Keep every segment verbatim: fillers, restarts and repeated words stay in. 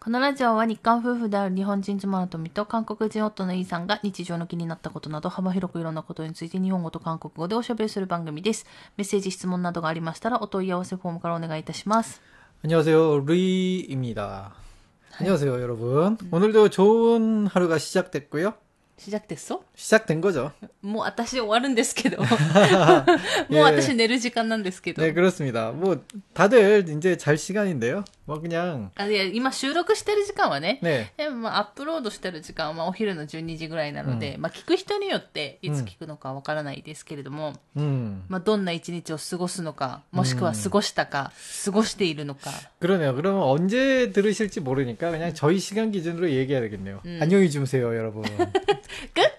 このラジオは日韓夫婦である日本人妻の富と韓国人夫のイーさんが日常の気になったことなど幅広くいろんなことについて日本語と韓国語でおしゃべりする番組です。メッセージ、質問などがありましたらお問い合わせフォームからお願いいたします。 안녕하세요. 루이입니다. 안녕하세요, 여러분. 오늘도 좋은 하루가 시작됐고요. 시작됐어? 시작된 거죠. もう私終わるんですけど。もう私寝る時間なんですけど。 네, 그렇습니다. 뭐 다들 이제 잘 시간인데요. 뭐 그냥 あ、いや、今収録してる時間はね。 네. でもまあアップロードしてる時間はまあお昼のじゅうにじぐらいなので、うん、まあ聞く人によっていつ聞くのかわからないですけれども、うん、まあどんな一日を過ごすのか、もしくは過ごしたか、うん、過ごしているのか。 그러네요. 그러면 언제 들으실지 모르니까 그냥 저희 시간 기준으로 얘기해야 되겠네요. 음. 안녕히 주무세요, 여러분. 끝?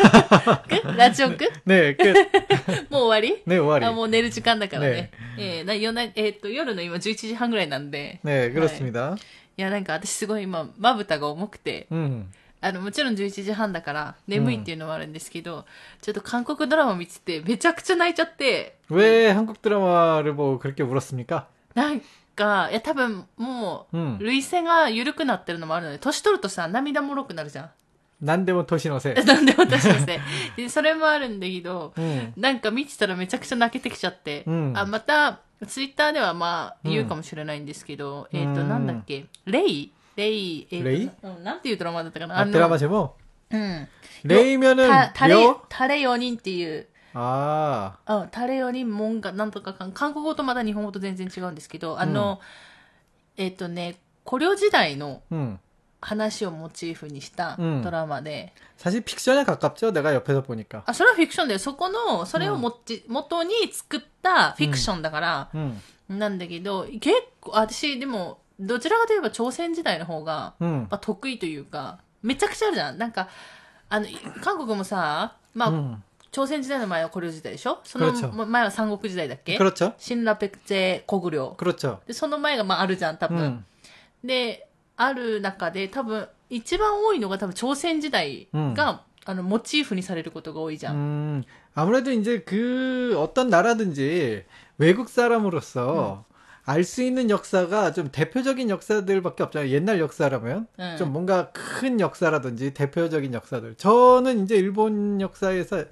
끝? 라디오 끝? 네, 끝. もう終わり? 네, 終わり. 아, もう寝る時間だからね。えー、な夜な、えーっと、夜の今じゅういちじはんぐらいなんで。 네, 그렇습니다. はい、いや、なんか私すごい今、まぶたが重くて、うん、あの、もちろんじゅういちじはんだから眠いっていうのもあるんですけど、うん、ちょっと韓国ドラマ見ててめちゃくちゃ泣いちゃって。 왜 한국 드라마를 보고 그렇게 울었습니까? なんか、いや多分もう、涙腺が緩くなってるのもあるので、年取るとさ、涙もろくなるじゃん。何でも年のせい。 何でも年のせい。で、それもあるんだけど、うん、なんか見てたらめちゃくちゃ泣けてきちゃって、うん、あ、また、ツイッターではまあ言うかもしれないんですけど、うん、えっ、ー、と、なんだっけ、レイレイ、えー、 レイ、 うん、なんていうドラマだったかな。 あ、ドラマ제목？ うん。 レイ면은 タレ、タレよにんっていう、 ああ。 うん、タレよにんもんが、なんとかかん、韓国語とまた日本語と全然違うんですけど、あの、うん、えっ、ー、とね、古領時代の、うん話をモチーフにしたドラマで。 사실 픽션에 가깝죠. 내가 옆에서 보니까. あ、それはフィクションだよ。そこの、それをもち、元に作ったフィクションだから、なんだけど、結構、私、でも、どちらかといえば朝鮮時代の方が、まあ、得意というか、めちゃくちゃあるじゃん。なんか、あの、韓国もさ、まあ、うん、朝鮮時代の前は古領時代でしょ。その前は三国時代だっけ。新羅백제古領。で、その前がまああるじゃん、多分。うん、で、ある中で多分一番多いのが多分朝鮮時代が、うん、あのモチーフにされることが多いじゃん。 음, 아무래도 이제 그 어떤 나라든지 외국 사람으로서 음. 알 수 있는 역사가 좀 대표적인 역사들밖에 없잖아요. 옛날 역사라면 음. 좀 뭔가 큰 역사라든지 대표적인 역사들. 저는 이제 일본 역사에서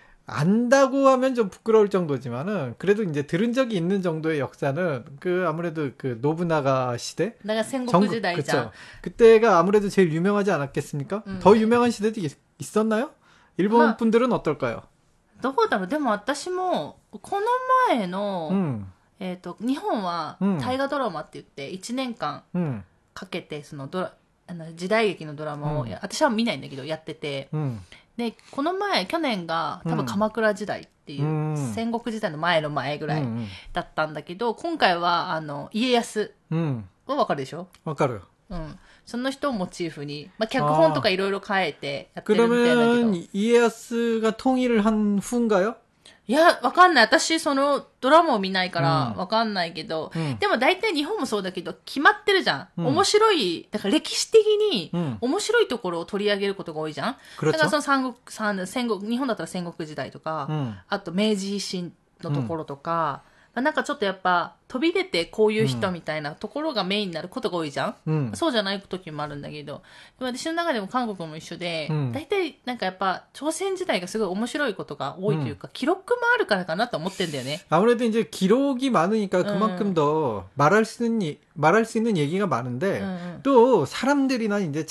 안다고 하면 좀 부끄러울 정도지만은 그래도 이제 들은 적이 있는 정도의 역사는 그 아무래도 그 노부나가 시대, 내가 생국 시대이자 그때가 아무래도 제일 유명하지 않았겠습니까? 음. 더 유명한 시대도 있, 있었나요? 일본 분들은 어떨까요? どうだろう。でも私もこの前の、うん、えっと日本は大河ドラマって言っていちねんかんかけてそのドラあの時代劇のドラマを、うん、私は見ないんだけどやってて。うん、で、この前、去年が多分鎌倉時代っていう、うん、戦国時代の前の前ぐらいだったんだけど、うん、今回は、あの、家康はわかるでしょ？ わかる。 うん。その人をモチーフに、まあ、脚本とかいろいろ変えてやってるみたいだけど。 그러면家康が통일을한 후인가요? いや、わかんない。私、その、ドラマを見ないから、わかんないけど、うん、でも大体日本もそうだけど、決まってるじゃん。うん、面白い、だから歴史的に、面白いところを取り上げることが多いじゃん。うん、だからその三国、三戦国、日本だったら戦国時代とか、うん、あと明治維新のところとか、うん、なんかちょっとやっぱ、飛び出てこういう人みたいなところがメインになることが多いじゃん、うん、そうじゃない時もあるんだけど、でも私の中でも韓国も一緒で、うん、大体なんかやっぱ朝鮮時代がすごい面白いことが多いというか、うん、記録もあるからかなと思ってんだよね。 아무래도 이제 기록이 많으니까 그만큼 음. 더 말할 수 있는 말할 수 있는 얘기가 많은데 음. 또 사람들이나 이제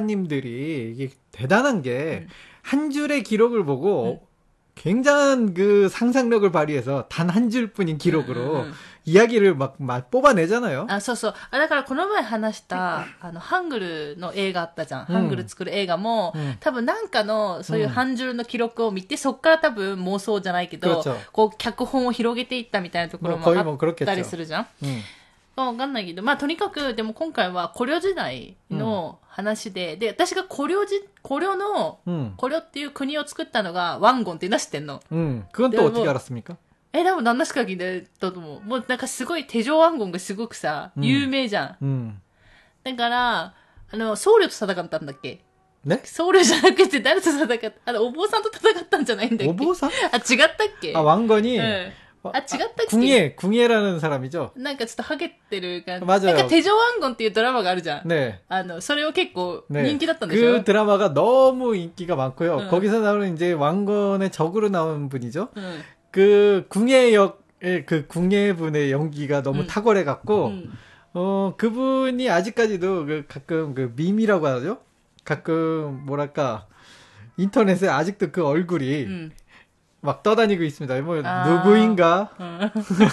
작가님들이 이게 대단한 게 한 음. 줄의 기록을 보고 음. 굉장한 그 상상력을 발휘해서 단 한 줄뿐인 기록으로 음. 이야기를 막, 막 뽑아내잖아요. 아, そうそう。あ、だからこの前話した、あの、ハングルの映画あったじゃん。ハングル作る映画も、うん、多分なんかの、そういう半줄의記録を見て、そっから多分妄想じゃないけど、こう、脚本を広げていったみたいなところもあったりするじゃん。わかんないけど、まあとにかく、でも今回は古領時代の話で、うん、で、私が古領じ、古領の、うん、古領っていう国を作ったのがワンゴンっていうの知ってんの。 うん。그건 또 어떻게 알았습니까？ え、でも何なしか聞いてたと思う。もうなんかすごい手錠ワンゴンがすごくさ、うん、有名じゃん。うん。だから、あの、僧侶と戦ったんだっけ？ね？僧侶じゃなくて誰と戦った？あの、お坊さんと戦ったんじゃないんだっけ？ お坊さん？ あ、違ったっけ？ あ、왕건이、うんあ、違ったっけ? 궁예, 궁예라는 사람이죠. なんかちょっとハゲってる感じ。 맞아요. なんかテジョワンゴンっていうドラマがあるじゃん。 네. あの、それを結構 네. 人気だったんでしょ? 그 드라마가 너무 인기가 많고요. 응. 거기서 나오는 이제 왕건의 적으로 나온 분이죠. 응. 그 궁예 역의 그 궁예 분의 연기가 너무 응. 탁월해 갖고 응. 어, 그분이 아직까지도 그 가끔 그 밈이라고 하죠. 가끔 뭐랄까 인터넷에 아직도 그 얼굴이 응. 막 떠다니고 있습니다. 뭐 아. 누구인가? 응.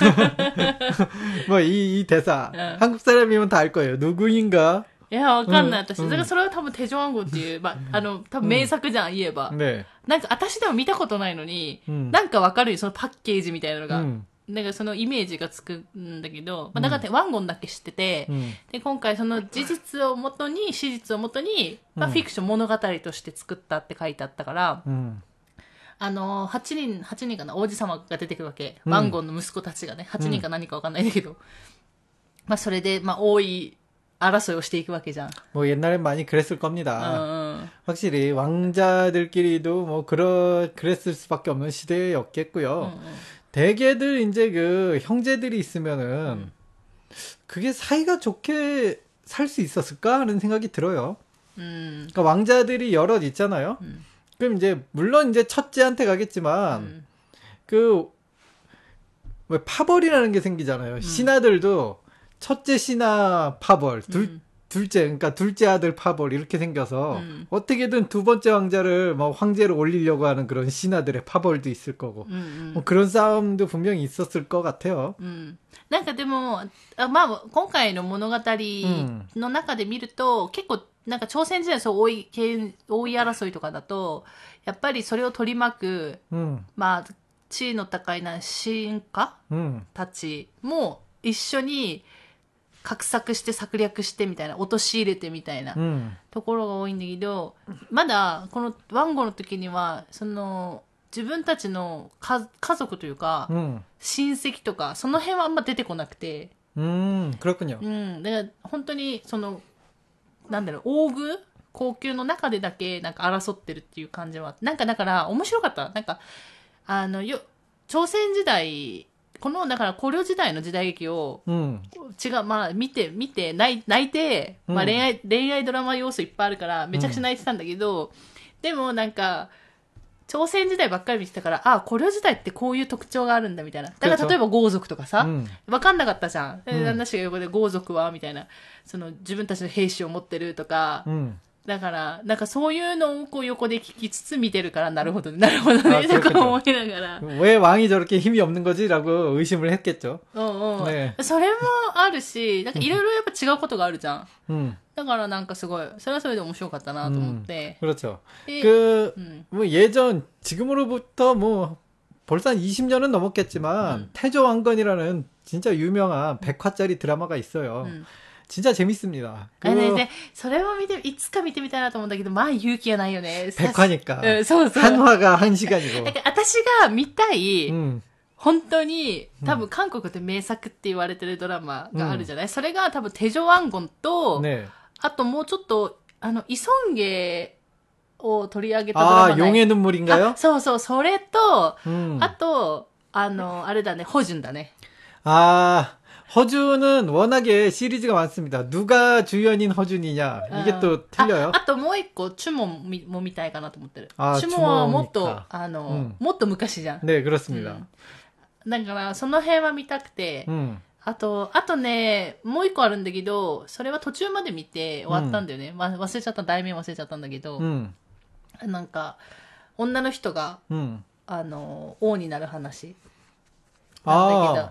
뭐 이 이 대사 응. 한국 사람이면 다 알 거예요. 누구인가? いや、わかんない、私。だからそれは多分、テジョワンゴっていう、まあ、あの、多分名作じゃん、言えば。ね。なんか、私でも見たことないのに、なんかわかるよ、そのパッケージみたいなのが。なんかそのイメージがつくんだけど、まあ、だからワンゴンだけ知ってて、で、今回その事実をもとに、史実をもとに、まあ、フィクション物語として作ったって書いてあったから、あの、はちにん、はちにんかな、王子様が出てくるわけ。ワンゴンの息子たちがね、はちにんか何かわかんないんだけど。まあ、それで、まあ、多い、알아서요,していくわけじゃん. 뭐 옛날엔 많이 그랬을 겁니다. 어, 어. 확실히 왕자들끼리도 뭐 그러 그랬을 수밖에 없는 시대였겠고요. 어, 어. 대개들 이제 그 형제들이 있으면은 음. 그게 사이가 좋게 살 수 있었을까 하는 생각이 들어요. 음. 그러니까 왕자들이 여럿 있잖아요. 음. 그럼 이제 물론 이제 첫째한테 가겠지만 음. 그 왜 파벌이라는 게 생기잖아요. 음. 신하들도 첫째 신하 파벌, 둘, 음. 둘째, 그러니까 둘째 아들 파벌 이렇게 생겨서 음. 어떻게든 두 번째 왕자를 뭐 황제로 올리려고 하는 그런 신하들의 파벌도 있을 거고 음, 음. 뭐 그런 싸움도 분명히 있었을 것 같아요. 음. なんかでも、まあ、今回の物語の中で見ると、結構、なんか朝鮮時代そう多い、多い争いとかだと、やっぱりそれを取り巻く、うん、まあ、地位の高いな、臣下、うん、たちも一緒に、画策して策略してみたいな、陥れてみたいなところが多いんだけど、うん、まだこのワンゴの時には、その自分たちの家族というか、うん、親戚とか、その辺はあんま出てこなくて。 うん、그렇군요。 うん、だから本当にその、なんだろう、王宮皇宮の中でだけなんか争ってるっていう感じは、なんかだから面白かった。なんか、あの、よ、朝鮮時代、この、だから、古領時代の時代劇を、うん、違う、まあ、見て、見て、泣い泣いて、まあ、恋愛、うん、恋愛ドラマ要素いっぱいあるから、めちゃくちゃ泣いてたんだけど、うん、でもなんか、朝鮮時代ばっかり見てたから、あ、古領時代ってこういう特徴があるんだ、みたいな。だから、例えば豪族とかさ、わかんなかったじゃん。で、旦那氏が横で豪族は、みたいな、その、自分たちの兵士を持ってるとか、うん、だから、なんかそういうのをこう横で聞きつつ見てるから、なるほどね、なるほどね、とか思いながら。 왜 왕이 저렇게 힘이 없는 거지라고 의심을 했겠죠. うんうん。ね、それもあるし、なんかいろいろやっぱ違うことがあるじゃん。うん。だからなんかすごい、それはそれで面白かったなと思って。 うん、그렇죠. 그, 음. 뭐 예전, 지금으로부터 뭐, 벌써 한 이십 년은 넘었겠지만, 음. 태조왕건이라는 진짜 유명한 백 화짜리 드라마가 있어요. 음. 진짜 재밌습니다. あねね、それも見て、いつか見てみたいなと思うんだけど、まあ勇気がないよね。 백 화니까。 うん、そうそう。 한 화가 한 시간이고。 だから私が見たい、うん、本当に、多分韓国って名作って言われてるドラマがあるじゃない、うん、それが多分テジョワンゴンと、ね、あともうちょっと、あの、イソンゲを取り上げたドラマない。 あ、용의 눈물인가요？ そうそう、それと、うん、あと、あの、あれだね、ホジュンだね。 あー。 허준은 워낙에 시리즈가 많습니다. 누가 주연인 허준이냐 이게 어. 또 틀려요. あともう一個チュモンも見たいかなと思ってる。あ、チュモンはもっとあのもっと昔じゃん。 ね、그렇습니다。 だからその辺は見たくて、あとあとねもう一個あるんだけど、それは途中まで見て終わったんだよね。ま忘れちゃった題名忘れちゃったんだけど、なんか女の人があの王になる話なんだけど。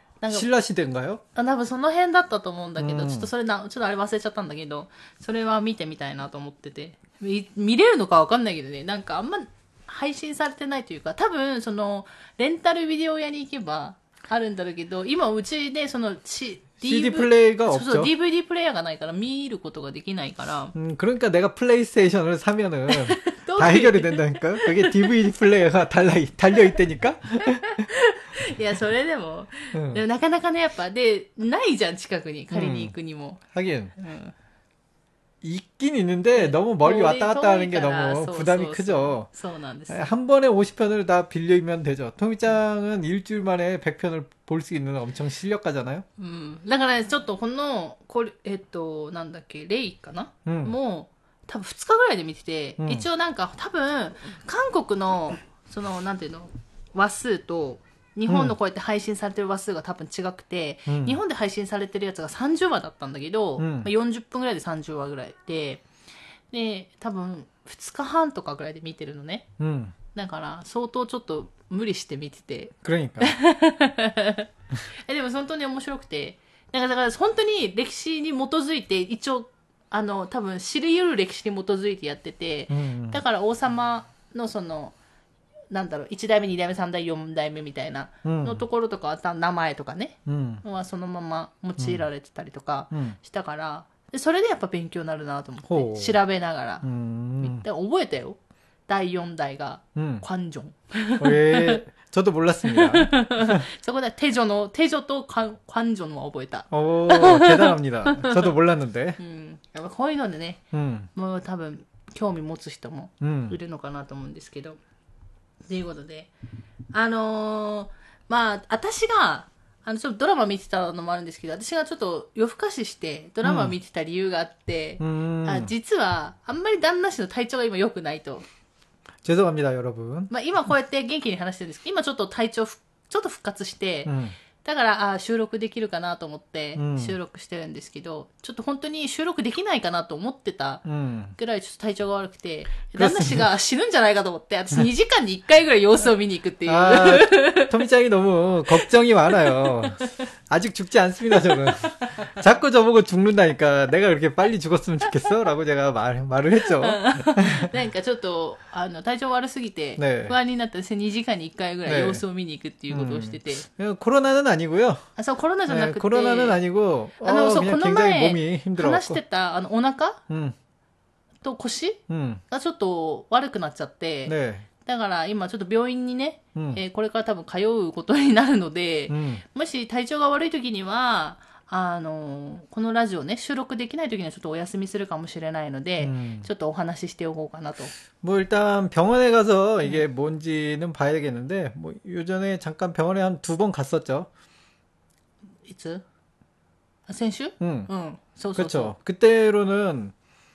신라 시대인가요? あ、多分その辺だったと思うんだけど、うん、ちょっとそれな、ちょっとあれ忘れちゃったんだけど、それは見てみたいなと思ってて。見、見れるのかわかんないけどね、なんかあんま配信されてないというか、多分その、レンタルビデオ屋に行けばあるんだろうけど、今うちでその、シーディー 플레이가 없죠. そうそう、ディーブイディー プレイヤーがないから見ることができないから。 음、그러니까 내가 플레이스테이션을 사면은 다 해결이 된다니까? 그게 디브이디 플레이어가 달려, 달려 있다니까? いや、それでも、うん、でもなかなかね、やっぱ、で、ないじゃん、近くに、借りに行くにも。 うん、하긴、 うん、 있긴 있는데 너무 멀리 왔다 갔다 하는 게 너무 부담이 크죠. 한 번에 오십 편을 다 빌리면 되죠. 토미짱은 일주일 만에 백 편을 볼 수 있는 엄청 실력가잖아요. 음. だからね、ちょっとこのこれえっとなんだっけ、レイかな？もう多分ふつかぐらいで見てて、一応なんか多分韓国のそのなんていうの話数と日本のこうやって配信されてる話数が多分違くて、うん、日本で配信されてるやつがさんじゅっわだったんだけど、うんまあ、よんじゅっぷんぐらいでさんじゅっわぐらいで、で、多分ふつかはんとかぐらいで見てるのね。うん、だから相当ちょっと無理して見てて。 그러니까。 え、でも本当に面白くて、だからだから本当に歴史に基づいて、一応、あの、多分知り得る歴史に基づいてやってて、うんうん、だから王様のその、なんだろう、いちだいめ、にだいめ、さんだいめ、よんだいめみたいなのところとか、うん、名前とかね、うん、はそのまま用いられてたりとかしたから、でそれでやっぱ勉強になるなと思って、調べながら。うん、で覚えたよ。だいよん代が、관종。 えー、저도 몰랐습니다。 そこで、태조の、태조と관종は覚えた。 おー、대단합니다。저도 몰랐는데。 うん。やっぱこういうのでね、うん、もう多分、興味持つ人もいるのかなと思うんですけど。ということで、あのー、まあ、私が、あの、ちょっとドラマ見てたのもあるんですけど、私がちょっと夜更かししてドラマ見てた理由があって、うん、あ実は、あんまり旦那氏の体調が今良くないと。 죄송합니다、여러분。 まあ、今こうやって元気に話してるんですけど、今ちょっと体調、ちょっと復活して、うんだから、あ収録できるかなと思って収録してるんですけど、うん、ちょっと本当に収録できないかなと思ってたぐらいちょっと体調が悪くて、うん、旦那氏が死ぬんじゃないかと思って、私にじかんにいっかいぐらい様子を見に行くっていう。 あ토미짱이 너무 걱정이 많아요. 아직 죽지 않습니다, 저는. 자꾸 저보고 죽는다니까 내가 그렇게 빨리 죽었으면 좋겠어? 라고 제가 말, 말을 했죠. なんかちょっと、あの、体調悪すぎて、不安になったんですね。にじかんにいっかいぐらい様子を見に行くっていうことをしてて。 네. 코로나는 아니고요. 아, 저 코로나じゃなくて 네, 코로나는 아니고, 아, 어, 그냥 굉장히 몸이 힘들어갖고. 話してた、あの、お腹 음. と腰 음. がちょっと悪くなっちゃって、 네. だから今ちょっと病院にね、うんえー、これから多分通うことになるので、うん、もし体調が悪い時には、あのー、このラジオね、収録できない時にはちょっとお休みするかもしれないので、うん、ちょっとお話ししておこうかなと。 뭐 일단 병원에 가서 이게 뭔지는 봐야 되겠는데, 뭐 요전에 잠깐 병원에 한 두 번 갔었죠. いつ? 先週? 응. 응. 소, 그렇죠. 소, 소. 그때로는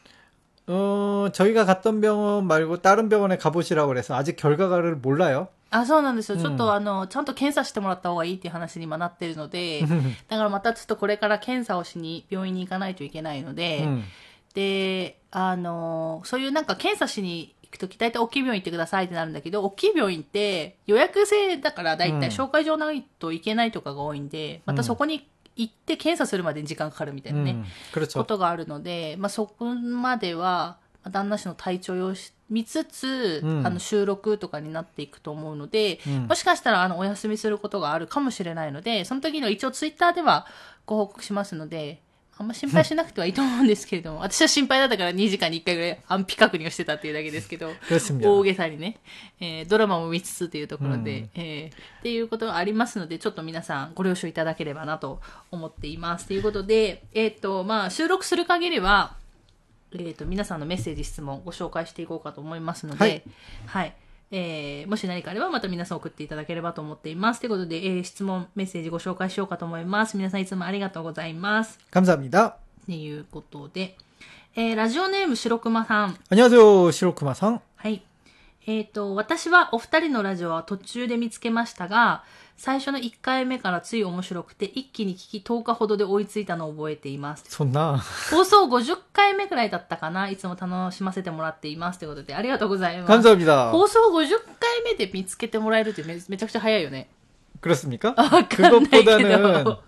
어, 저희가 갔던 병원 말고 다른 병원에 가보시라고 그래서 아직 결과를 몰라요. あ、そうなんですよ。ちょっとあの、ちゃんと検査してもらった方がいいっていう話に今なってるので、だからまたちょっとこれから検査をしに病院に行かないといけないので、うん、で、あの、そういうなんか検査しに行くとき大体大きい病院行ってくださいってなるんだけど、大きい病院って予約制だから大体紹介状ないといけないとかが多いんで、またそこに行って検査するまでに時間かかるみたいなね、うん、ことがあるので、まあそこまでは、旦那氏の体調を見つつ、うん、あの収録とかになっていくと思うので、うん、もしかしたらあのお休みすることがあるかもしれないので、その時の一応ツイッターではご報告しますので、あんま心配しなくてはいいと思うんですけれども、私は心配だったからにじかんにいっかいぐらい安否確認をしてたっていうだけですけど、大げさにね、えー、ドラマも見つつというところで、うんえー、っていうことがありますので、ちょっと皆さんご了承いただければなと思っています。ということで、えっと、まあ、収録する限りは、えーと、皆さんのメッセージ質問をご紹介していこうかと思いますので、はい。はい。えー、もし何かあればまた皆さん送っていただければと思っています。ということで、えー、質問、メッセージご紹介しようかと思います。皆さんいつもありがとうございます。 감사합니다。 ということで、えー、ラジオネーム白熊さん。 안녕하세요、白熊さん。 はい。えっと、私はお二人のラジオは途中で見つけましたが、最初のいっかいめからつい面白くて一気に聞きとおかほどで追いついたのを覚えています。 そんな。 放送ごじゅっかいめくらいだったかな。いつも楽しませてもらっています。ということでありがとうございます。 감사합니다。 放送ごじゅっかいめで見つけてもらえるって め, めちゃくちゃ早いよね。 그렇습니까? 아, 그것보다는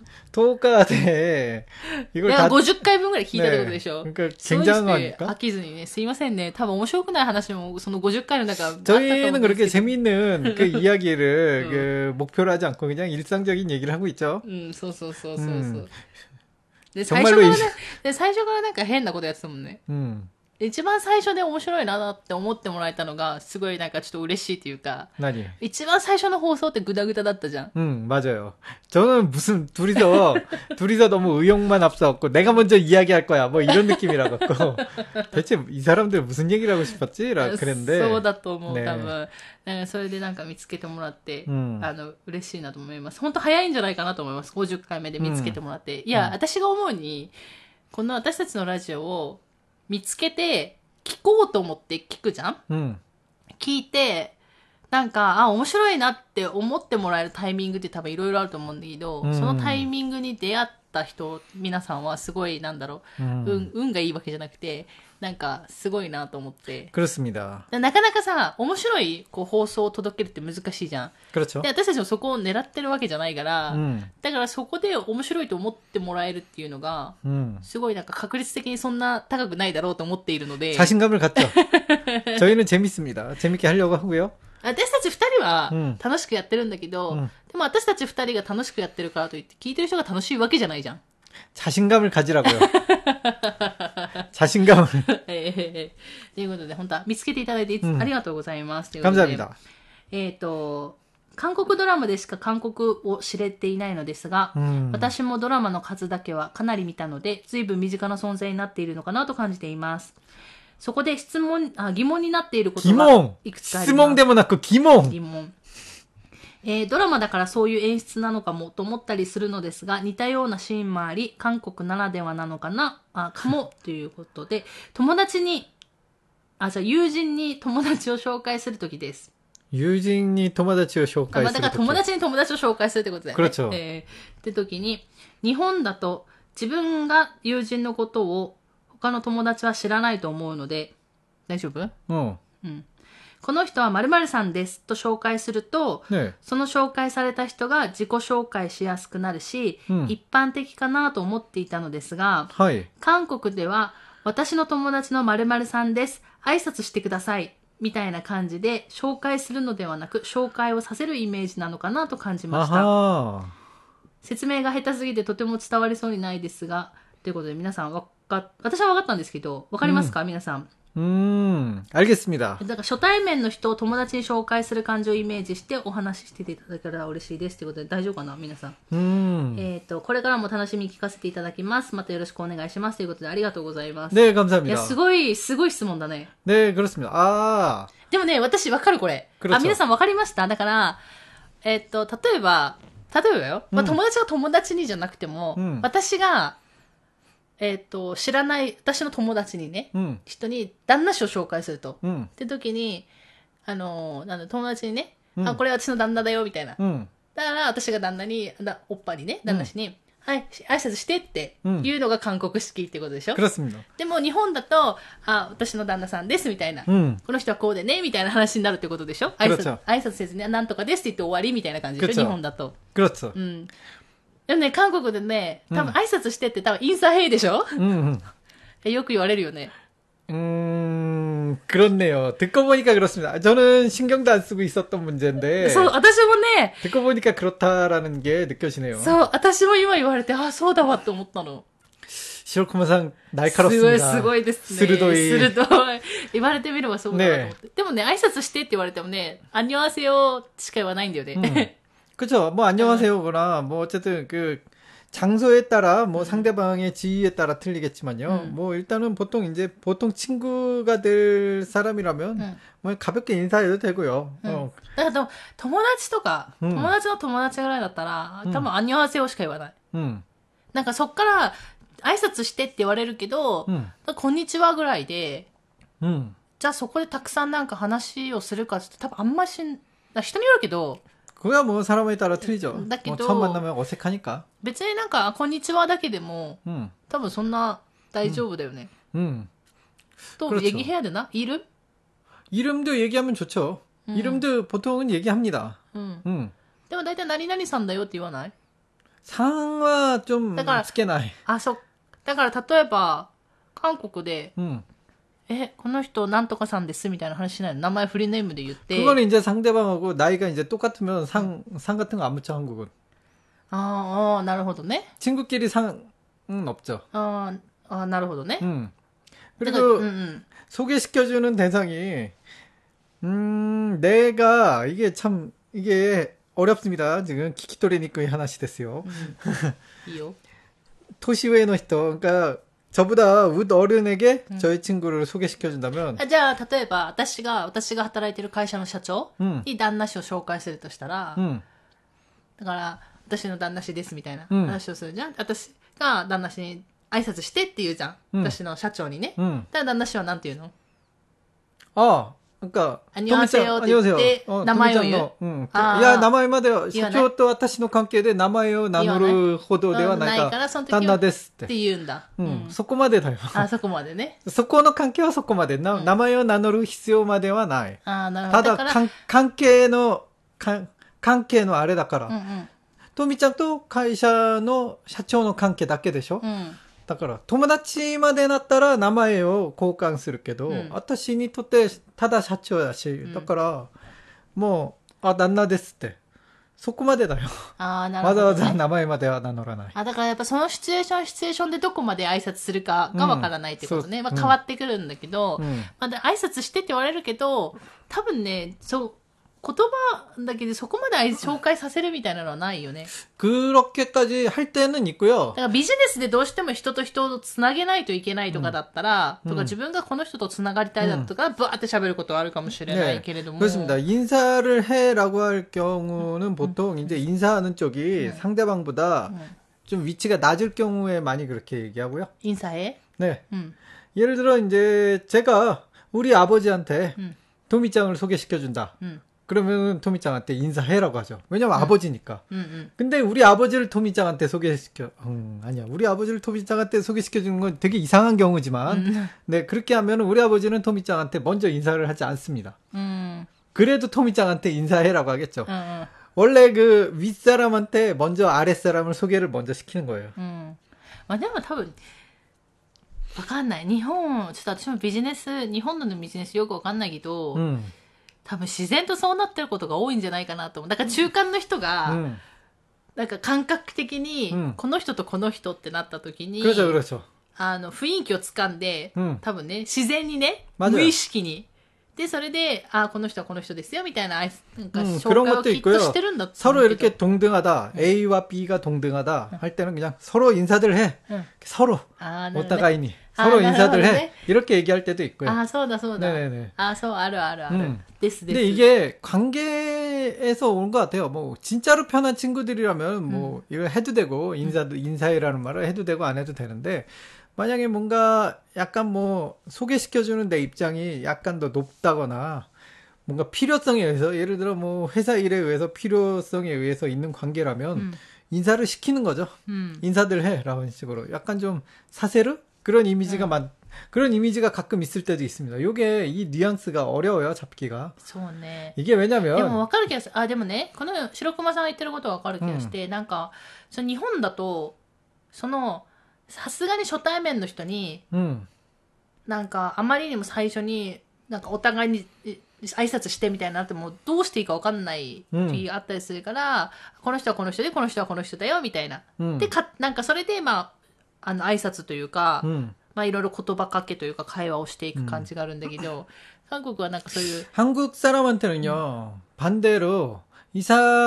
토카데 이걸 다ごじゅっかいぶんぐらい聞いたってことでしょ。 그러니까 굉장한 거 아닙니까? 飽きずにね、すいませんね。多分面白くない話もそのごじゅっかいの中 저희는 그렇게 재밌는 그 이야기를 응. 그 목표로 하지 않고 그냥 일상적인 얘기를 하고 있죠. 음, そうそうそうそうそう。で、最初からね、で、最初からなんか変なことやってたもんね。 음. 一番最初で面白いなって思ってもらえたのが、すごいなんかちょっと嬉しいというか。 何一番最初の放送ってグダグダだったじゃん。 응, 맞아요. 저는 무슨 둘이서, 둘이서 너무 의욕만 앞서갖고, 내가 먼저 이야기할 거야. 뭐 이런 느낌이라 갖고. 대체 이 사람들 무슨 얘기를 하고 싶었지? 라 그랬는데. そうだと思う、多分。なんかそれでなんか見つけてもらって、うん、あの、嬉しいなと思います。本当早いんじゃないかなと思います。ごじゅっかいめで見つけてもらって。うん、いや、うん、私が思うに、この私たちのラジオを見つけて、聞こうと思って聞くじゃん、うん、聞いて、なんか、あ、面白いなって思ってもらえるタイミングって多分いろいろあると思うんだけど、うん、そのタイミングに出会った人、皆さんはすごい、なんだろう、うん、運、運がいいわけじゃなくて、なんか、すごいなと思って。 그렇습니다。 なかなかさ、面白いこう放送を届けるって難しいじゃん。 그렇죠。 で、私たちもそこを狙ってるわけじゃないから、うん、だからそこで面白いと思ってもらえるっていうのが、うん、すごいなんか確率的にそんな高くないだろうと思っているので。 자신감을 갖죠。저희는 재밌습니다。재밌게 하려고 하고요。 私たち二人は楽しくやってるんだけど、うん、でも私たち二人が楽しくやってるからといって聞いてる人が楽しいわけじゃないじゃん。 자신감을 가지라고요. 자신감을. ということで、本当は見つけていただいて、うん、ありがとうございます。 감사합니다。 えっと、韓国ドラマでしか韓国を知れていないのですが、うん、私もドラマの数だけはかなり見たので、随分身近な存在になっているのかなと感じています。そこで質問、あ、疑問になっていることがいくつかあります。 質問でもなく疑問。 疑問。えー、ドラマだからそういう演出なのかもと思ったりするのですが、似たようなシーンもあり、韓国ならではなのかな、あ、かも、ということで、友達に、あ、じゃあ友人に友達を紹介するときです。 友人に友達を紹介するとき。 だから友達に友達を紹介するってことだよね。 그렇죠。 えー、ってときに、日本だと自分が友人のことを他の友達は知らないと思うので、大丈夫？ うん。 うん。この人は〇〇さんですと紹介すると、ね、その紹介された人が自己紹介しやすくなるし、うん、一般的かなと思っていたのですが、 はい、 韓国では私の友達の〇〇さんです、挨拶してください、みたいな感じで紹介するのではなく、紹介をさせるイメージなのかなと感じました。説明が下手すぎてとても伝わりそうにないですが、ということで皆さんわか、私は分かったんですけど、わかりますか、うん、皆さん。 음, 알겠습니다. だから初対面の人を友達に紹介する感じをイメージしてお話ししていただけたら嬉しいですということで大丈夫かな皆さん。 うん。 えっと、これからも楽しみに聞かせていただきます。またよろしくお願いしますということでありがとうございます。 ね、감사합니다。 いや、すごい、すごい質問だね。 ね、그렇습니다。ああ。 でもね、私わかるこれ。あ、皆さんわかりました？だから、えっと、例えば、例えばよ、まあ、友達が友達にじゃなくても、うん、私が、えっ、ー、と、知らない、私の友達にね、うん、人に旦那氏を紹介すると。うん、って時に、あの、なんだ、友達にね、うん、あ、これ私の旦那だよ、みたいな。うん、だから、私が旦那に、だおっぱにね、旦那氏に、うん、はい、挨拶してっていうのが韓国式ってことでしょ、うん、でも、日本だと、あ、私の旦那さんです、みたいな、うん。この人はこうでね、みたいな話になるってことでしょ挨拶、挨拶せずに、なんとかですって言って終わりみたいな感じでしょ日本だと。 うん。 でもね、韓国でね、多分挨拶してって多分インサヘイでしょ、うんうん、よく言われるよね。 음, 그렇네요. 듣고 보니까 그렇습니다. 저는 신경도 안 쓰고 있었던 문제인데. そう、私もね。 듣고 보니까 그렇다라는 게 느껴지네요. そう、私も今言われて、あ、そうだわって思ったの。 시로쿠마상 날카롭습니다. すごいですね。 鋭い。 鋭い。言われてみればそうだなと思って。ね、でもね、挨拶してって言われてもね、アンニョンハセヨしか言わないんだよね。うん 그쵸. 뭐, 안녕하세요거나, 뭐, 어쨌든, 그, 장소에 따라, 뭐, 음. 상대방의 지위에 따라 틀리겠지만요. 음. 뭐, 일단은 보통 이제, 보통 친구가 될 사람이라면, 음. 뭐, 가볍게 인사해도 되고요. 음. 어. だから友達とか、友達の友達ぐらいだったら、多分、アンニョンハセヨしか言わない。うん。なんかそっから、挨拶してって言われるけど、うん、こんにちはぐらいで、うん。じゃあそこでたくさんなんか話をするかって多分あんまし、人によるけど、 그거야 뭐 사람에 따라 틀리죠. 뭐 처음 만나면 어색하니까. 別になんかこんにちはだけでも 음. 多分そんな大丈夫だよね. 음. 또 그렇죠. 얘기해야 되나? 이름? 이름도 얘기하면 좋죠. 음. 이름도 보통은 얘기합니다. 음. 음. でも大体何々さんだよって言わない? 상は좀つけない. 아, そう。だから例えば韓国で 음. え、この人なんとかさんですみたいな話しないの名前フリーネームで言って 그거는 이제 상대방하고 나이가 이제 똑같으면 상, 상 같은 거 안 묻혀 한국은. 아, 어, なるほどね. 친구끼리 상은 없죠. 아, 아, なるほどね. 음. 그리고 음, 음. 소개시켜주는 대상이 음 내가 이게 참 이게 어렵습니다. 지금 키키토리니쿠이 하나씩 됐어요. 음. 이요. 토시웨의 히토 그러니까 저보다 웃 어른에게 음. 저희 친구를 소개시켜준다면. 아, じゃあ例えば私が私が働いている会社の社長に旦那氏を紹介するとしたら、うん、だから私の旦那氏ですみたいな話をするじゃん。私が旦那氏に挨拶してって言うじゃん。うん、私の社長にね。うん、だから旦那氏はなんて言うの？ ああ。なんか、 アニョンセヨって言って名前を言う。 うん。いや、名前までは、社長と私の関係で名前を名乗るほどではないから、旦那ですって。 って言うんだ。 うん。そこまでだよ。 あ、そこまでね。 そこの関係はそこまで。な、名前を名乗る必要まではない。 あ、なるほど。ただ、関係の、関係のあれだから。トミちゃんと会社の社長の関係だけでしょ？うん。だから友達までなったら名前を交換するけど、うん、私にとってただ社長だし、うん、だからもうあ旦那ですってそこまでだよ。 ああなるほど、ね、 わざわざ名前までは名乗らない。 あだからやっぱそのシチュエーションシチュエーションでどこまで挨拶するかがわからないってことね。うん、まあ変わってくるんだけど、うん、まあ挨拶してって言われるけど、多分ねそう言葉だけでそこまで紹介させるみたいなのはないよね。 그렇게까지 할 때는 있고요. だからビジネスでどうしても人と人をつなげないといけないとかだったら、うん、とか自分がこの人とつながりたいだとか、ブワーって喋ることはあるかもしれないけれども。 그렇습니다. 인사를 해라고 할 경우는 보통 음. 이제 인사하는 쪽이 음. 상대방보다 음. 좀 위치가 낮을 경우에 많이 그렇게 얘기하고요. 인사해? 네. 음. 예를 들어 이제 제가 우리 아버지한테 음. 도미짱을 소개시켜준다. 음. 그러면 토미짱한테 인사해라고 하죠. 왜냐면 응. 아버지니까. 응, 응. 근데 우리 아버지를 토미짱한테 소개시켜, 음, 아니야. 우리 아버지를 토미짱한테 소개시켜주는 건 되게 이상한 경우지만, 응. 네, 그렇게 하면 우리 아버지는 토미짱한테 먼저 인사를 하지 않습니다. 응. 그래도 토미짱한테 인사해라고 하겠죠. 응. 원래 그 윗사람한테 먼저 아랫사람을 소개를 먼저 시키는 거예요. 응. 왜냐면 多分わかんない。日本、ちょっと私もビジネス、日本のビジネスよくわかんないけど、うん多分自然とそうなってることが多いんじゃないかなと思う。だから中間の人が、うん、なんか感覚的に、うん、この人とこの人ってなった時に、あの雰囲気をつかんで、うん、多分ね、自然にね、無意識に。で、それで、あ、この人はこの人ですよ、みたいな、なんか紹介をきっとしてるんだと思うけど。 서로 이렇게 동등하다, A와 B가 동등하다 할 때는 그냥 서로 인사들 해. 서로.お互いに. 서로 인사들 해. 이렇게 얘기할 때도 있고요. 아, そうだそうだ. 네네네. 아, そうあるあるある. 음. 데스, 데스. 근데 이게 관계에서 온 것 같아요. 뭐 진짜로 편한 친구들이라면 뭐 음. 이거 해도 되고 인사도 인사해라는 말을 해도 되고 안 해도 되는데 만약에 뭔가 약간 뭐 소개시켜주는 내 입장이 약간 더 높다거나 뭔가 필요성에 의해서 예를 들어 뭐 회사 일에 의해서 필요성에 의해서 있는 관계라면 음. 인사를 시키는 거죠. 음. 인사들 해 라는 식으로 약간 좀 사세르 그런 이미지가 음. 많 그런 이미지가 가끔 있을 때도 있습니다. 요게 이 뉘앙스가 어려워요, 잡기가. そうね. 이게 왜냐면 でもわかる気がする。あ、でもね、この白熊さんが言ってることはわかる気がして、なんかその日本だとそのさすがに初対面の人に、うん、なんかあまりにも最初になんかお互いに挨拶してみたいになってもどうしていいか分かんない時があったりするから、うん、この人はこの人でこの人はこの人だよみたいな、うん、でかなんかそれでまああの挨拶というか、うん、まあいろいろ言葉かけというか会話をしていく感じがあるんだけど、韓国はなんかそういう 한국사람한테는요 반대로 이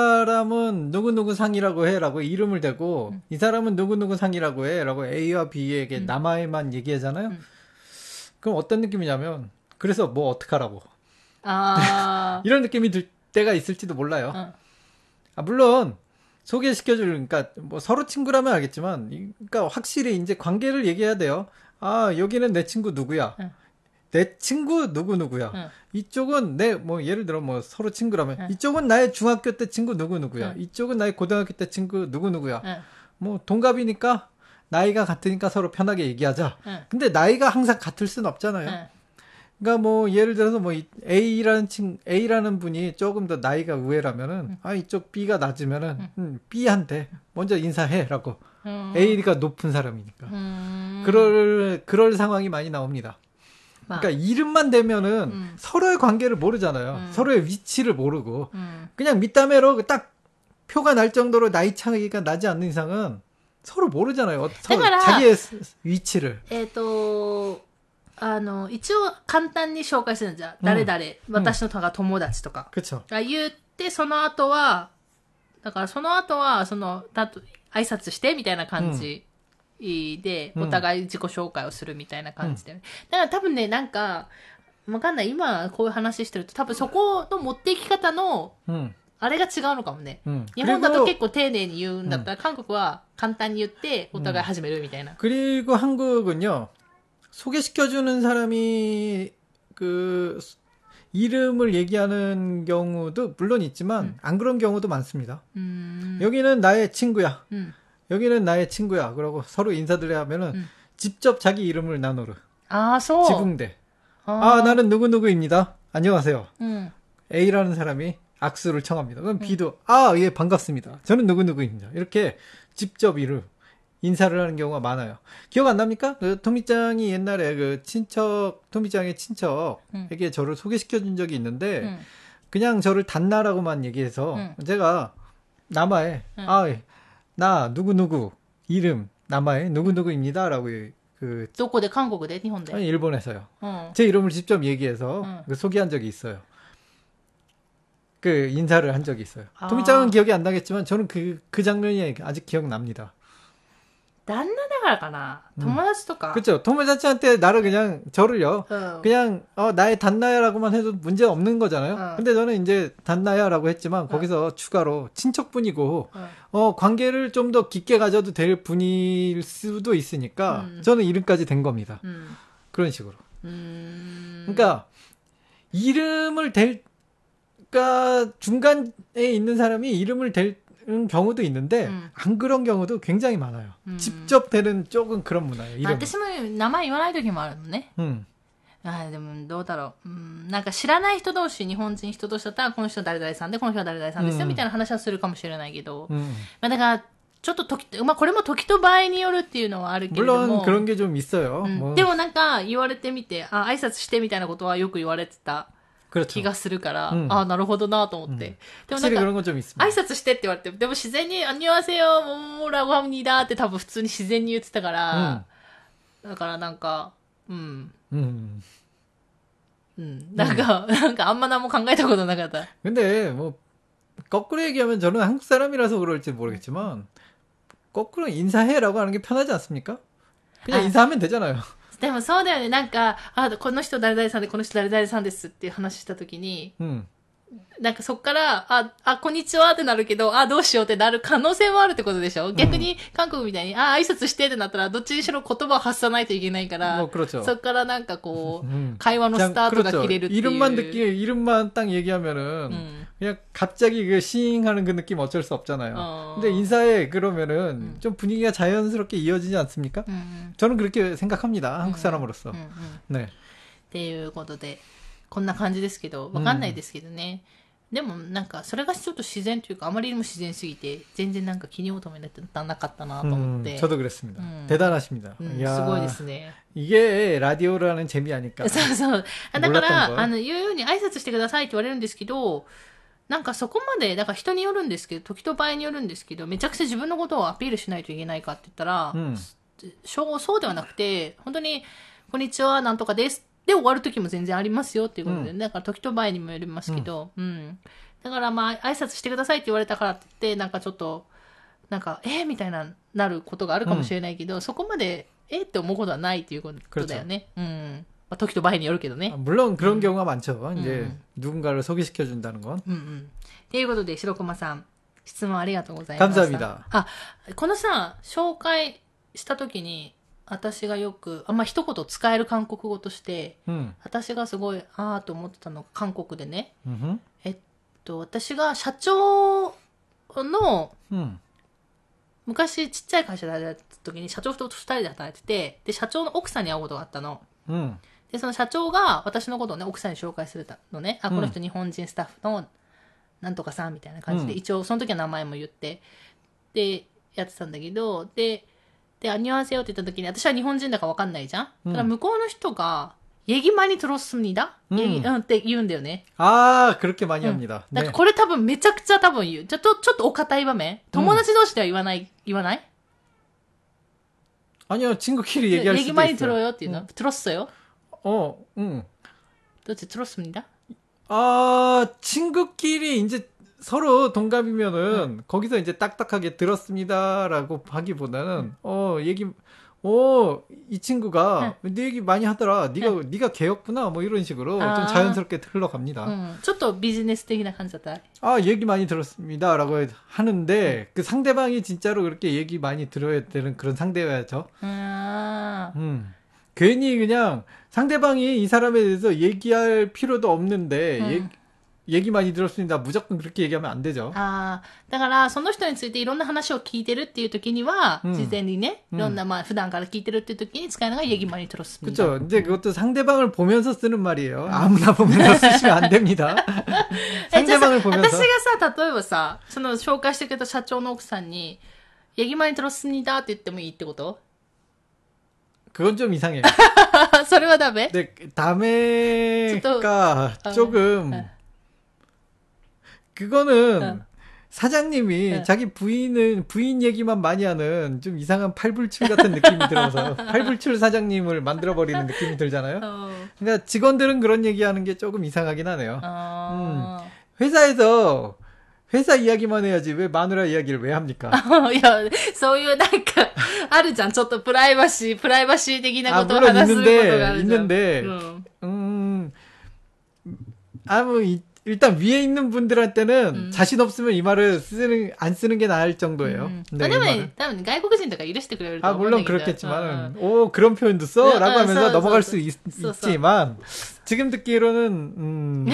사람은 누구누구 상이라고 해라고 이름을 대고 음. 이 사람은 누구누구 상이라고 해라고 A와 B에게 음. 남아에만 얘기하잖아요. 음. 그럼 어떤 느낌이냐면 그래서 뭐 어떡하라고 아... 이런 느낌이 들 때가 있을지도 몰라요. 어. 아, 물론 소개시켜줄 그러니까 뭐 서로 친구라면 알겠지만 그러니까 확실히 이제 관계를 얘기해야 돼요. 아 여기는 내 친구 누구야. 어. 내 친구 누구누구야. 응. 이쪽은 내, 뭐, 예를 들어, 뭐, 서로 친구라면, 응. 이쪽은 나의 중학교 때 친구 누구누구야. 응. 이쪽은 나의 고등학교 때 친구 누구누구야. 응. 뭐, 동갑이니까, 나이가 같으니까 서로 편하게 얘기하자. 응. 근데 나이가 항상 같을 순 없잖아요. 응. 그러니까 뭐, 예를 들어서 뭐, A라는 친, A라는 분이 조금 더 나이가 우애라면은, 응. 아, 이쪽 B가 낮으면은, 응. 음, B한테 먼저 인사해라고. 응. A가 높은 사람이니까. 응. 그럴, 그럴 상황이 많이 나옵니다. 그러니까 이름만 대면은 음. 서로의 관계를 모르잖아요. 음. 서로의 위치를 모르고 음. 그냥 밑담회로 딱 표가 날 정도로 나이 차이가 나지 않는 이상은 서로 모르잖아요. 서로 자기의 위치를. えっとあの、一応簡単に紹介するんじゃん。誰々、私の友達とか。 그쵸。 言って、その後は、だからその後は、その、たと、挨拶してみたいな感じで、お互い自己紹介をするみたいな感じで。だから多分ね、なんか、わかんない。今こういう話してると、多分そこの持っていき方の、あれが違うのかもね。日本だと結構丁寧に言うんだったら、韓国は簡単に言って、お互い始めるみたいな。 그리고 한국은요, 소개시켜주는 사람이 그 이름을 얘기하는 경우도 물론 있지만 음. 안 그런 경우도 많습니다. 음. 여기는 나의 친구야. 음. 여기는 나의 친구야. 그러고 서로 인사드려야 하면은 음. 직접 자기 이름을 나누르. 아, 소. 지붕대. 아. 아, 나는 누구누구입니다. 안녕하세요. 음. A라는 사람이 악수를 청합니다. 그럼 음. B도 아, 예, 반갑습니다. 저는 누구누구입니다. 이렇게 직접 이름 인사를 하는 경우가 많아요. 기억 안 납니까? 그 토미짱이 옛날에 그 친척, 토미짱의 친척에게 음. 저를 소개시켜준 적이 있는데, 음. 그냥 저를 단나라고만 얘기해서, 음. 제가 남아에, 음. 아, 나, 누구누구, 이름, 남아에 누구누구입니다. 라고 그. どこで? 한국에? 일본에? 아니, 일본에서요. 어. 제 이름을 직접 얘기해서 음. 그 소개한 적이 있어요. 그 인사를 한 적이 있어요. 아. 토미짱은 기억이 안 나겠지만, 저는 그, 그 장면이 아직 기억납니다. 旦那だからかな友達とか 그렇죠. 토모자치한테 나를 그냥 저를요. 어. 그냥 어 나의 단나야라고만 해도 문제 없는 거잖아요. 어. 근데 저는 이제 단나야라고 했지만 어. 거기서 추가로 친척분이고 어, 어 관계를 좀 더 깊게 가져도 될 분일 수도 있으니까 음. 저는 이름까지 된 겁니다. 음. 그런 식으로. 음. 그러니까 이름을 댈 그러니까 중간에 있는 사람이 이름을 댈 경우도 있는데 음. 안 그런 경우도 굉장히 많아요. 음. 직접 되는 쪽은 그런 문화예요. 이름. 私も名前言わない時もあるのね。うん。あでもどうだろう。うん、なんか知らない人同士、日本人人同士だったらこの人誰々さんでこの人は誰々さんですよ、うん、みたいな話はするかもしれないけど、うん、まあだからちょっと時、まあこれも時と場合によるっていうのはあるけれども。 물론 그런 게 좀 있어요. うん、 뭐. でもなんか言われてみて、あ挨拶してみたいなことはよく言われてた。気がするから、うん、ああ、なるほどなと思って。うん、でもなんか、挨拶してって言われて、でも自然に、あんにわせよ、もうラゴハムニーだって多分普通に自然に言ってたから、うん、だからなんか、うん。うん。うん。なんか、うん、なんかあんま何も考えたことなかった。 근데 뭐 거꾸로 얘기하면 저는 한국 사람이라서 그럴지 모르겠지만, 거꾸로 인사해라고 하는 게 편하지 않습니까? 그냥 아, 인사하면 되잖아요. でもそうだよね。なんか、あ、この人誰々さんで、この人誰々さんですっていう話したときに、うん、なんかそっから、あ、あ、こんにちはってなるけど、あ、どうしようってなる可能性もあるってことでしょ、うん、逆に韓国みたいに、あ、挨拶してってなったら、どっちにしろ言葉を発さないといけないから、そっからなんかこう、うん、会話のスタートが切れるっていう。 이름만 듣기, 이름만 딱 얘기하면은, 음. 그냥 갑자기 그 싱하는 그 느낌 어쩔 수 없잖아요. 어. 근데 인사해 그러면은 음. 좀 분위기가 자연스럽게 이어지지 않습니까? 음. 저는 그렇게 생각합니다. 한국 사람으로서. 음. 음. 네. っていうことで、こんな感じですけど、わかんないですけどね。でもなんかそれがちょっと自然というかあまりにも自然すぎて全然なんか気に求めなかったなと思って。 음, 저도 그랬습니다. 음. 대단하십니다. 음, すごいですね。 이게 라디오라는 재미 아닐까. そうそう。だからあの言うように挨拶してくださいって言われるんですけど、なんかそこまでだから人によるんですけど、時と場合によるんですけど、めちゃくちゃ自分のことをアピールしないといけないかって言ったら、うん、そうではなくて本当にこんにちはなんとかです。で終わる時も全然ありますよっていうことで、うん、だから時と場合にもよりますけど、うん、うん、だからまあ挨拶してくださいって言われたからって言ってなんかちょっとなんかえー、みたいななることがあるかもしれないけど、うん、そこまでえーって思うことはないっていうことだよね。うん。まあ、時と場合によるけどね。 물론 그런 경우가 많죠. 이제 누군가를 소개시켜 준다는 건. うんうん。ということで白駒さん質問ありがとうございました。 감사합니다. あ、このさ紹介した時に。私がよくあんま一言使える韓国語として、うん、私がすごいあーと思ってたのが韓国でね、うん、えっと私が社長の、うん、昔ちっちゃい会社で働いてた時に社長と二人で働いてて、で社長の奥さんに会うことがあったの、うん、でその社長が私のことをね奥さんに紹介するのね、あこの人日本人スタッフのなんとかさんみたいな感じで、うん、一応その時は名前も言ってでやってたんだけど、でで、アニュアンセヨって言った時に、私は日本人だか分かんないじゃん、うん、だから向こうの人が、얘기 많이 들었습니다? 음. 얘기, 응, って言うんだよね。 아, 그렇게 많이 합니다. だからこれ多分めちゃくちゃ多分言う。ちょっと、ちょっとお堅い場面。友達同士では言わない、言わない 아니요, 친구끼리 얘기할 수도 있어요. 얘기 많이 들어요っていうの。 들었어요? 어, 응. 도대체 들었습니다. 아, 친구끼리 이제 서로 동갑이면은 응. 거기서 이제 딱딱하게 들었습니다라고 하기보다는 응. 어, 얘기 오, 이 친구가 응. 네 얘기 많이 하더라. 네가 응. 네가 걔였구나. 뭐 이런 식으로 아. 좀 자연스럽게 흘러갑니다. 음, 좀 비즈니스적인 감자다. 아, 얘기 많이 들었습니다라고 하는데 응. 그 상대방이 진짜로 그렇게 얘기 많이 들어야 되는 그런 상대여야죠. 아. 음. 괜히 그냥 상대방이 이 사람에 대해서 얘기할 필요도 없는데 응. 얘기 얘기 많이 들었습니다. 무조건 그렇게 얘기하면 안 되죠. 아, だからその人についていろんな話を聞いてるっていう時には、うん、事前にね、いろんなまあ普段から聞いてるっていう時に使うのが얘기 많이 들었습니다. 그렇죠. 이제 그것도 상대방을 보면서 쓰는 말이에요. 아무나 보면서 쓰시면 안 됩니다. 상대방을 보면서. 私がさ、例えばさ、その紹介してくれた社長の奥さんに얘기 많이 들었습니다って言ってもいいってこと? 그건 좀 이상해요. それはダメ? 네, 다메가 조금 그거는 어. 사장님이 어. 자기 부인은 부인 얘기만 많이 하는 좀 이상한 팔불출 같은 느낌이 들어서 팔불출 사장님을 만들어버리는 느낌이 들잖아요. 어. 그러니까 직원들은 그런 얘기하는 게 조금 이상하긴 하네요. 어. 음. 회사에서 회사 이야기만 해야지 왜 마누라 이야기를 왜 합니까? いや、そういうなんかあるじゃん。ちょっとプライバシー、プライバシー的なことを話すことがあるじゃん。 있는데, 음, 음, 아무 이 일단 위에 있는 분들한테는 음. 자신 없으면 이 말을 쓰는 안 쓰는 게 나을 정도예요. 음. 네, 때문에 때문에 외국인들가 이랬을 거예요. 아 물론 그렇겠지만, 어, 어. 오 그런 표현도 써라고 어, 하면서 어, 넘어갈 써, 수 있, 써, 있지만 지금 듣기로는 음,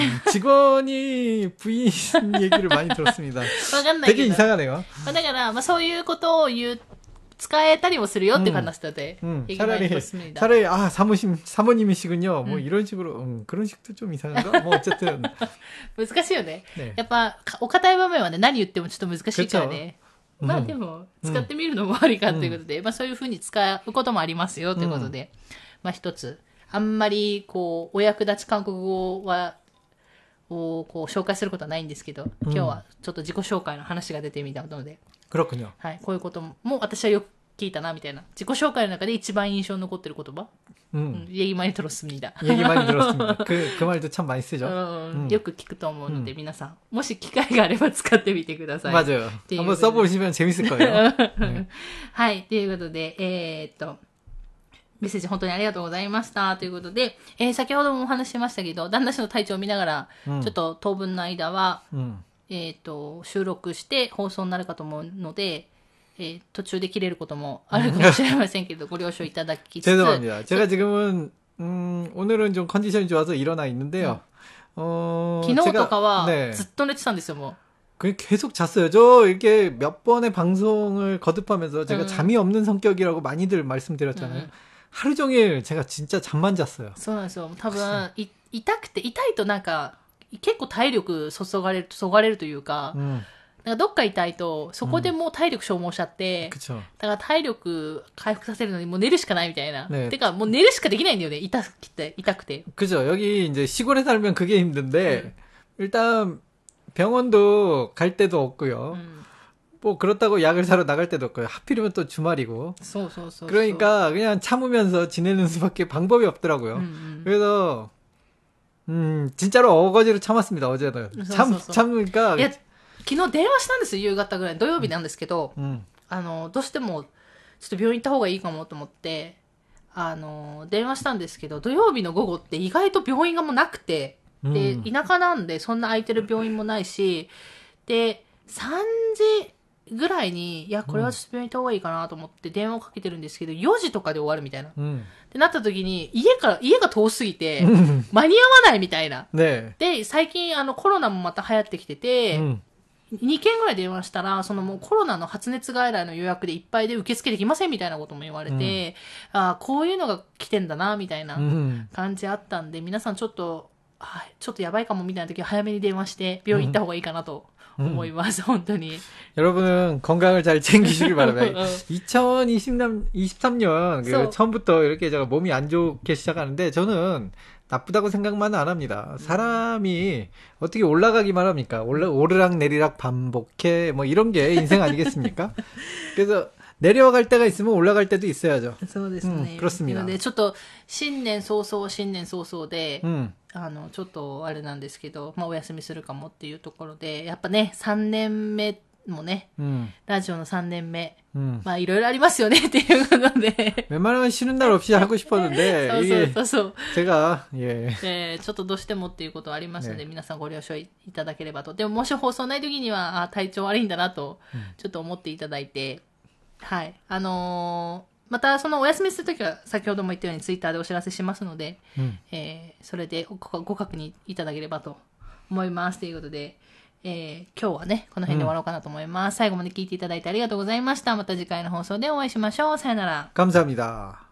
직원이 부인 얘기를 많이 들었습니다. 되게 이상하네요. だからまあそういうことを言う。使えたりもするよって話だって얘기 많이 들었습니다. 차라리 아 사모님 사모님이시군요. 뭐 음. 이런 식으로 음, 그런 식도 좀 이상한가? 뭐 어쨌든 難しいよね。やっぱお堅い場面はね何言ってもちょっと難しいからね。まあでも使ってみるのもありかということで、まあそういう風に使うこともありますよということで、まあ一つあんまりこうお役立ち韓国語はをこう紹介することはないんですけど、今日はちょっと自己紹介の話が出てみたので。 그렇군요. はい、こういうことも私はよく聞いたなみたいな自己紹介の中で一番印象に残ってる言葉、うん、얘기 많이 들었습니다. 얘기 많이 들었습니다. 그, 그 말도 참 많이 쓰죠. うん、よく聞くと思うので、皆さんもし機会があれば使ってみてください。 맞아요. 한번 써보시면 재밌을 거예요. 네. はい、ということで、えー、っとメッセージ本当にありがとうございましたということで、えー、先ほどもお話ししましたけど、旦那氏の体調を見ながら、うん、ちょっと当分の間は、うんえっと、収録して放送になるかと思うので、えー、途中で切れることもあるかもしれませんけど、ご了承いただきつつ。 죄송합니다. 제가 지금은, 음, 오늘은 좀 컨디션이 좋아서 일어나 있는데요. 음. 어, 昨日とかは、ずっと寝てたんですよ、もう。 그냥 계속 잤어요. 저 이렇게 몇 번의 방송을 거듭하면서 제가 음. 잠이 없는 성격이라고 많이들 말씀드렸잖아요. 음. 하루 종일 제가 진짜 잠만 잤어요. そうなんですよ。多分、い痛くて、痛いとなんか、結構体力注がれる、注がれるというか、うん、なんかどっか痛いと、そこでもう体力消耗しちゃって、うん、だから体力回復させるのにもう寝るしかないみたいな。ね、てかもう寝るしかできないんだよね。痛くて、痛くて。 그죠. 여기 이제 시골에 살면 그게 힘든데, 음. 일단 병원도 갈 데도 없고요. 음. 뭐 그렇다고 약을 사러 나갈 때도 없고요. 하필이면 또 주말이고. 소, 소, 소, 그러니까 그냥 참으면서 지내는 수밖에 방법이 없더라고요. 음, 음. 그래서 음, 진짜로 어거지로 참았습니다, 어제는. 참, 참으니까. いや、昨日電話したんですよ、夕方ぐらい。土曜日なんですけど、うん、あの、どうしても、ちょっと病院行った方がいいかもと思って、あの、電話したんですけど、土曜日の午後って意外と病院がもうなくて、で、うん、田舎なんでそんな空いてる病院もないし、で、さんじぐらいに、いや、これはちょっと病院行った方がいいかなと思って電話をかけてるんですけど、よじとかで終わるみたいな。うん、ってなった時に、家から、家が遠すぎて、間に合わないみたいな。ね、で、最近、あの、コロナもまた流行ってきてて、うん、にけんぐらい電話したら、そのもうコロナの発熱外来の予約でいっぱいで受付できませんみたいなことも言われて、うん、ああ、こういうのが来てんだな、みたいな感じあったんで、皆さんちょっと、はい、ちょっとやばいかもみたいな時は早めに電話して病院行った方がいいかなと思います、本当に。 여러분은 건강을 잘 챙기시길 바랍니다. 이천이십삼 년 그 so. 처음부터 이렇게 제가 몸이 안 좋게 시작하는데 저는 나쁘다고 생각만 안 합니다. 사람이 어떻게 올라가기만 합니까? 올라, 오르락 내리락 반복해 뭐 이런 게 인생 아니겠습니까? 그래서 내려갈 때가 있으면 올라갈 때도 있어야죠. そうですね。 음, 그렇습니다. なので、ちょっと、新年早々、新年早々で、 음. あの、ちょっとあれなんですけど、まあ、お休みするかもっていうところで、やっぱね、さんねんめもね、 음. ラジオのさんねんめ、 음. まあ、いろいろありますよねっていうことで。 웬만하면 쉬는 날 없이 하고 싶었는데 そうそう 이게 そうそう。 제가 예. えーちょっとどうしてもっていうことはありましたので、 ね皆さんご了承いただければと。でももし放送ない時には、あ、体調悪いんだなと、ちょっと思っていただいて、はい。あのーまたそのお休みするときは先ほども言ったようにツイッターでお知らせしますので、 うん、 えー、それでごご確認いただければと思いますということで、えー、今日はねこの辺で終わろうかなと思います、うん、最後まで聞いていただいてありがとうございました。また次回の放送でお会いしましょう。さよなら。 감사합니다。